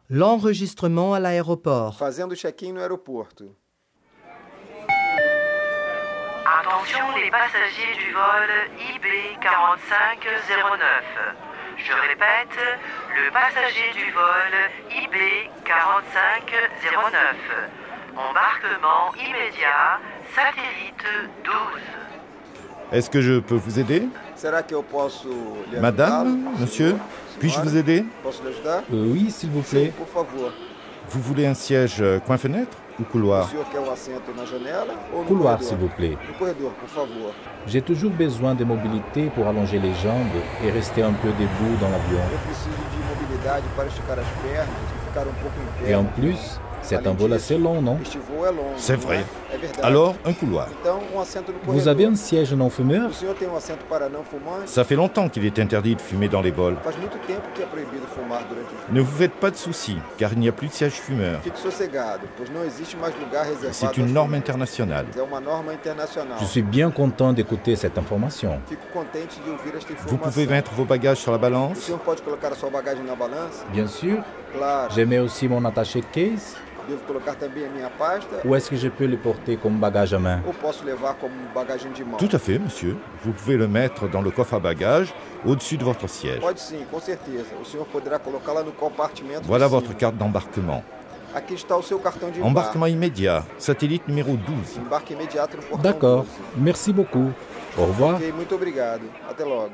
L'enregistrement à l'aéroport. Fazendo check-in no aeroporto. Attention les passagers du vol IB4509. Je répète, le passager du vol IB4509. Embarquement immédiat, satellite 12. Est-ce que je peux vous aider? Será que eu posso lhe ajudá-lo? Madame, monsieur, puis-je vous aider? Posso lhe ajudar? Oui, s'il vous plaît. Por favor. Vous voulez un siège coin-fenêtre ou O couloir? senhor quer um assento na janela ou no Couloir, corredor? s'il vous plaît. No corredor, por favor. J'ai toujours besoin de mobilité pour allonger les jambes et rester un peu debout dans l'avion. Eu preciso de mobilidade para esticar as pernas e ficar um pouco em pé. Et en plus, c'est un vol assez long, non? Este voo é longo. C'est não vrai. É verdade. Alors, un couloir. Então, um assento no corredor. Vous avez un siège non fumeur? O senhor tem um assento para não fumantes? Ça fait longtemps qu'il est interdit de fumer dans les vols. Faz muito tempo que é proibido fumar durante o voo. Ne vous faites pas de soucis, car il n'y a plus de siège fumeur. Fique sossegado, pois não existe mais lugar reservado. C'est une aos norme fumantes. internationale. É uma norma internacional. Je suis bien content d'écouter cette information. Fico contente de ouvir esta Vous informação. pouvez mettre vos bagages sur la O balance? senhor pode colocar a sua bagagem na balança? Bien sûr. Claro. Je mets aussi mon attaché case. Devo colocar também a minha pasta? Ou est-ce que je peux le porter comme bagage à main? Ou posso levar como bagagem de mão? Tout à fait, monsieur. Vous pouvez le mettre dans le coffre à bagages, au-dessus de votre siège. Pode sim, com certeza. O senhor poderá colocá-la no compartimento Voilà de votre cima. carte d'embarquement. Aqui está o seu cartão de Embarquement immédiat, satellite numéro 12. Embarque imediato no portão D'accord. 12. Merci beaucoup. Au revoir. Ok, muito obrigado. Até logo.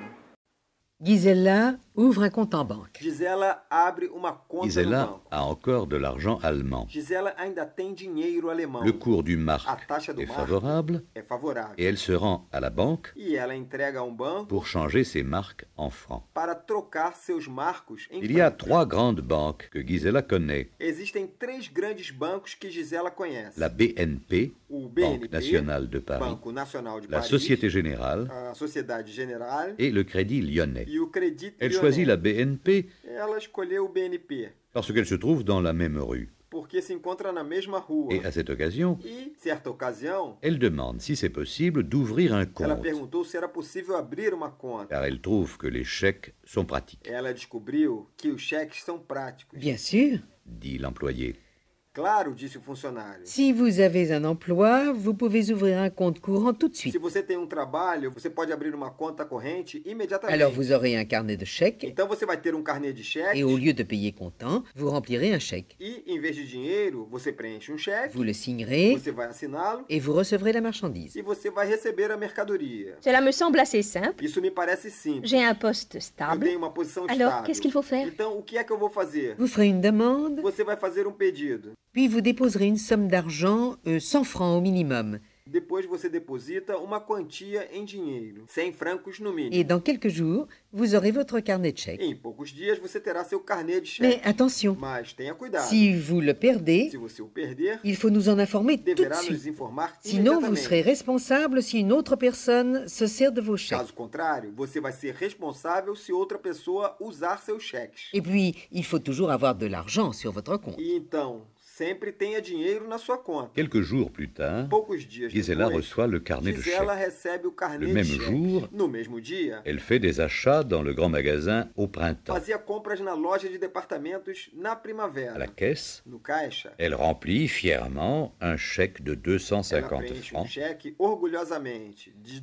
Gisela ouvre un compte en banque. Gisela abre uma conta no Gisela banco. a encore de l'argent allemand. Gisela ainda tem dinheiro alemão. Le cours du A mark taxa do est marco favorable é favorável. et elle se rend à la banque E ela entrega a banco pour changer ses marques en francs. para trocar seus marcos em Il y a francos. 3 grandes banques que Gisela connaît. Existem 3 grandes bancos que Gisela conhece. La BNP, O Banque BNP, nationale de Paris, Banco Nacional de la Paris, Société Générale a Sociedade General et le Crédit Lyonnais. e o Credit Elle Lyonnais. choisit la BNP Ela escolheu o BNP parce qu'elle se trouve dans la même rue. porque se encontra na mesma rua. Et à cette occasion, E, certa ocasião, elle demande si c'est possible d'ouvrir un ela compte, perguntou se era possível abrir uma conta. car elle trouve que les chèques sont pratiques, Ela descobriu que os cheques são práticos. Bien sûr. dit l'employé. Claro, disse o funcionário. Si vous avez un emploi, vous pouvez ouvrir un compte courant tout de suite. Se você tem um trabalho, você pode abrir uma conta corrente imediatamente. Alors vous aurez un carnet de chèques Então você vai ter um carnê de cheques et au lieu de payer comptant, vous remplirez un chèque. e, em vez de dinheiro, você preenche um cheque, Vous le signerez você vai assiná-lo et vous recevrez la marchandise. e você vai receber a mercadoria. Cela me semble assez simple. Isso me parece simples. J'ai un poste Eu stable. tenho uma posição Alors, estável. qu'est-ce qu'il faut faire? Então, o que é que eu vou fazer? Vous ferez une demande, Você vai fazer um pedido. puis vous déposerez une somme d'argent, 100 francs au minimum. Depois você deposita uma quantia em dinheiro, 100 francos no mínimo. Et dans quelques jours, vous aurez votre carnet de chèques. Em poucos dias você terá seu carnê de Mais cheque. attention, Mas tenha cuidado. si vous le perdez, Se você o perder, il faut nous en informer tout de deverá nos suite. informar Sinon, vous imediatamente. serez responsable si une autre personne se sert de vos chèques. Caso contrário, você vai ser responsável se outra pessoa usar seus cheques. Et puis, il faut toujours avoir de l'argent sur votre compte. E então, sempre tenha dinheiro na sua conta. Quelques jours plus tard, Poucos dias Gisela depois, reçoit le carnet de Gisela chèques. recebe o carnê Le de même cheques. jour, No mesmo dia, Elle fait des achats dans le grand magasin au printemps. fazia compras na loja de departamentos na À la primavera. caisse, No caixa, elle remplit fièrement un chèque de ela 250 preenche um francs cheque orgulhosamente de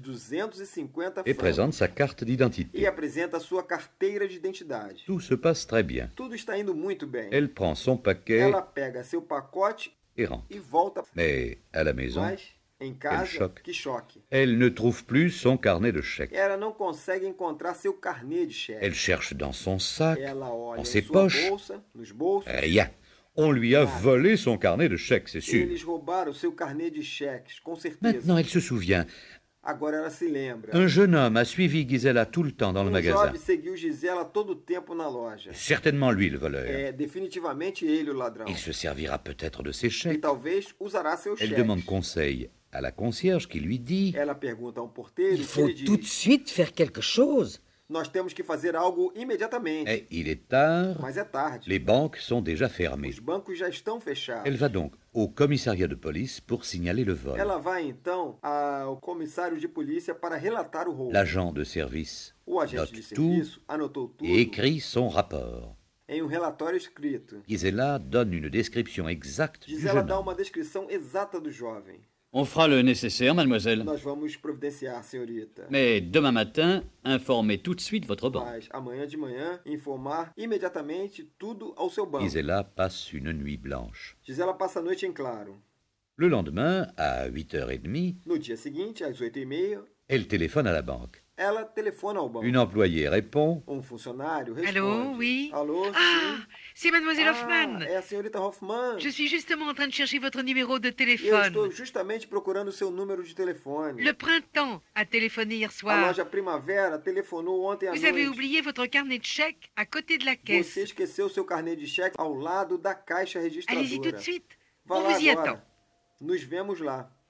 250 et francos présente sa carte e d'identité. apresenta a sua carteira de identidade. Tout se passe très bien. Tudo está indo muito bem. Elle prend son paquet Ela pega seu pacote et rentre. e volta. Mais à la maison, Mas, em casa, choque. que choque. elle ne trouve plus son carnet de chèques. Ela não consegue encontrar seu carnê de cheque. Elle cherche dans son sac, Ela olha dans em ses sua poches. bolsa, nos bolsos. Rien. On lui a volé son carnet de chèques, c'est sûr. Eles roubaram seu carnê de cheques, com certeza. Maintenant, elle se souvient. Agora ela se lembra. Un jeune homme a suivi Gisela tout le temps dans le magasin. jovem seguiu Gisela todo o tempo na loja. Certainement lui le voleur. É definitivamente ele o ladrão. Il se servira peut-être de ses E chèques. talvez usará seus Elle cheques. demande conseil à la concierge qui lui dit Ela pergunta a porteiro Il que faut ele tout de diz: suite faire quelque chose. nós temos que fazer algo imediatamente. Eh, il est tard, Mas é tarde. les banques sont déjà fermées. Os bancos já estão fechados. Elle va donc au commissariat de police pour signaler le vol. Ela vai então ao comissário de polícia para relatar o roubo. L'agent de service O agente de note tout serviço anotou tudo. et écrit son rapport. em um relatório escrito. Gisela donne une description exacte du Gisela jeune dá homme. uma descrição exata do jovem. On fera le nécessaire, mademoiselle. Nós vamos providenciar, senhorita. Mais demain matin, informez tout de suite votre banque. Mas amanhã de manhã, informar imediatamente tudo ao seu banco. Gisela passe une nuit blanche. Gisela passa a noite em claro. Le lendemain, à 8h30, No dia seguinte, às 8h30, elle téléphone à la banque. ela telefona ao banco. Une employée répond. Funcionário responde. Allô, oui. Alô, Ah, sim. c'est mademoiselle Hoffman. É a senhorita Hoffman. Je suis justement en train de chercher votre numéro de Eu téléphone. estou justamente procurando o seu número de telefone. Le printemps a téléphoné hier A soir. loja Primavera telefonou ontem à Vous avez noite. oublié votre carnet de chèques à côté de la Você caisse. esqueceu seu carnê de cheque ao lado da caixa Allez-y tout registradora. de suite. Vá On lá vous y agora. attend. Nos vemos lá.